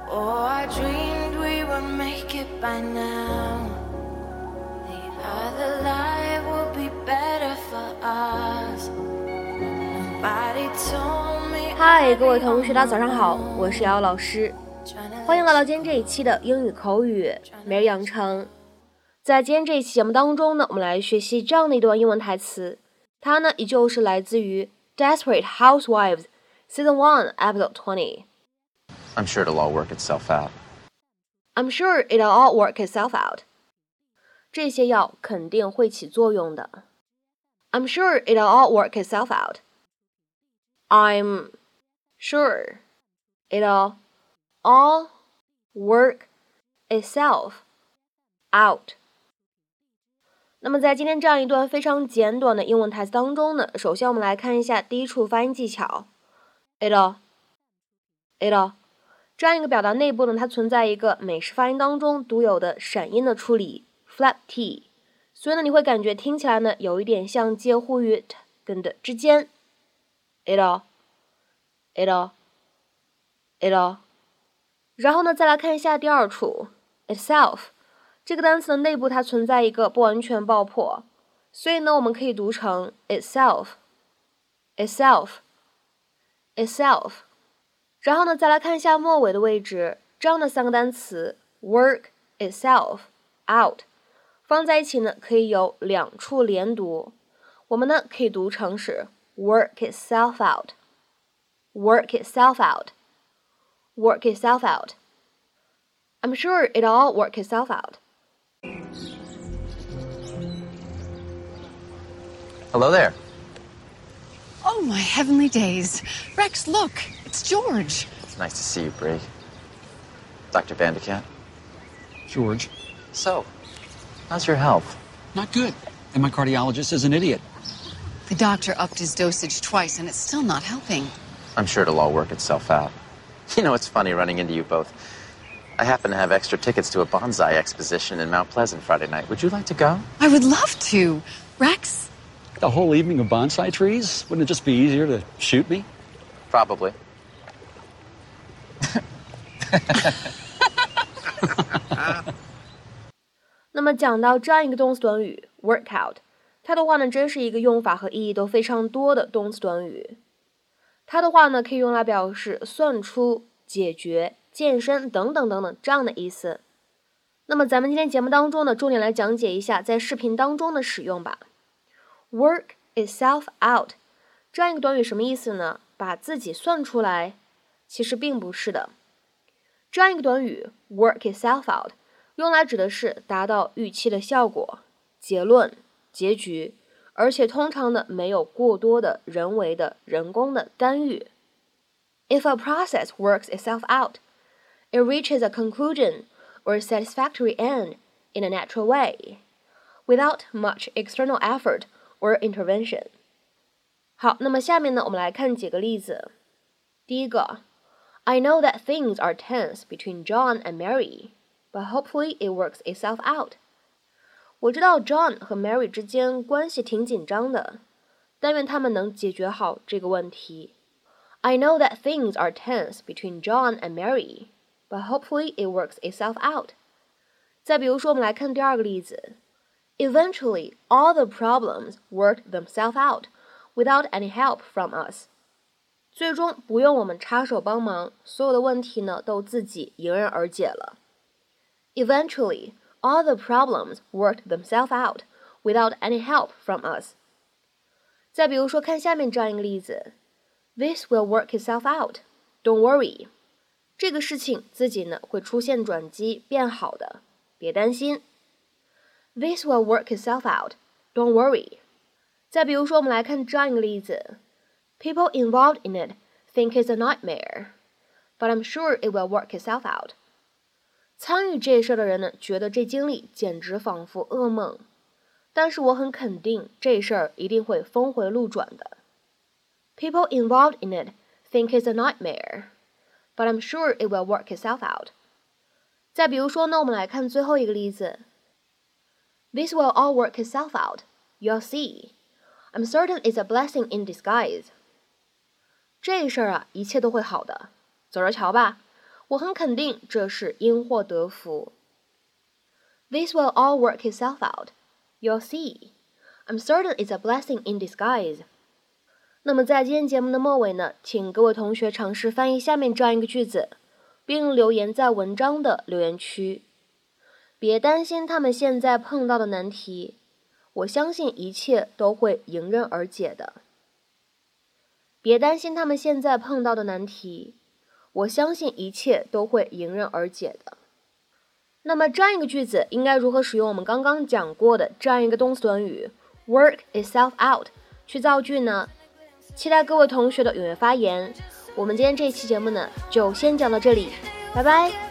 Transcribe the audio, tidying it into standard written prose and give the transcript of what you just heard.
Oh, I dreamed we would make it by now. The other life would be better for us. Nobody told me. 嗨，各位同学，大家早上好，我是瑶瑶老师，欢迎来到今天这一期的英语口语每日养成。在今天这一期节目当中呢，我们来学习这样的一段英文台词，它呢依旧是来自于 Desperate Housewives Season 1 Episode 20。I'm sure it'll all work itself out. I'm sure it'll all work itself out. 这些药肯定会起作用的。I'm sure it'll all work itself out. I'm sure it'll all work itself out. 那么在今天这样一段非常简短的英文台词当中呢，首先我们来看一下第一处发音技巧。it'll 这样一个表达内部呢，它存在一个美式发音当中独有的闪音的处理 flap t， 所以呢你会感觉听起来呢有一点像介乎于 t 跟的之间。it'll， 然后呢再来看一下第二处 itself， 这个单词的内部它存在一个不完全爆破，所以呢我们可以读成 itself。然后呢，再来看一下末尾的位置，这样的三个单词 work itself out 放在一起呢，可以有两处连读。我们呢可以读成是 work itself out. I'm sure it'll all work itself out. Hello there. Oh, my heavenly days. Rex, look. It's George. It's nice to see you, Bree. Dr. Vandekamp? George. So, how's your health? Not good. And my cardiologist is an idiot. The doctor upped his dosage twice, and it's still not helping. I'm sure it'll all work itself out. You know, it's funny running into you both. I happen to have extra tickets to a bonsai exposition in Mount Pleasant Friday night. Would you like to go? I would love to. Rex? The whole evening of bonsai trees? Wouldn't it just be easier to shoot me? Probably. 那么讲到这样一个动词短语 work out， 它的话呢真是一个用法和意义都非常多的动词短语。它的话呢可以用来表示算出、解决、健身等等等等这样的意思。那么咱们今天节目当中呢重点来讲解一下在视频当中的使用吧。work itself out 这样一个短语什么意思呢？把自己算出来？其实并不是的。这样一个短语 work itself out 用来指的是达到预期的效果、结论、结局，而且通常呢没有过多的人为的人工的干预。If a process works itself out, it reaches a conclusion or a satisfactory end in a natural way, without much external effort or intervention. 好，那么下面呢我们来看几个例子。第一个 I know that things are tense between John and Mary, but hopefully it works itself out. 我知道 John 和 Mary 之间关系挺紧张的，但愿他们能解决好这个问题。I know that things are tense between John and Mary, but hopefully it works itself out. 再比如说，我们来看第二个例子。Eventually, all the problems worked themselves out without any help from us. 最终不用我们插手帮忙，所有的问题呢都自己迎刃而解了。Eventually, all the problems worked themselves out without any help from us. 再比如说，看下面这样一个例子 This will work itself out. Don't worry. 这个事情自己呢会出现转机，变好的，别担心。This will work itself out. Don't worry. 再比如说，我们来看这样一个例子 People involved in it think it's a nightmare, but I'm sure it will work itself out. 参与这事的人呢，觉得这经历简直仿佛噩梦，但是我很肯定这事儿一定会峰回路转的。People involved in it think it's a nightmare, but I'm sure it will work itself out. 再比如说呢，我们来看最后一个例子 This will all work itself out. You'll see. I'm certain it's a blessing in disguise. 这事儿啊，一切都会好的，走着瞧吧。 我很肯定这是因祸得福。This will all work itself out. You'll see. I'm certain it's a blessing in disguise. 那么在今天节目的末尾呢，请各位同学尝试翻译下面这样一个句子，并留言在文章的留言区。别担心他们现在碰到的难题，我相信一切都会迎刃而解的。别担心他们现在碰到的难题，我相信一切都会迎刃而解的。那么这样一个句子应该如何使用我们刚刚讲过的这样一个动词短语 work itself out 去造句呢？期待各位同学的踊跃发言。我们今天这一期节目呢，就先讲到这里，拜拜。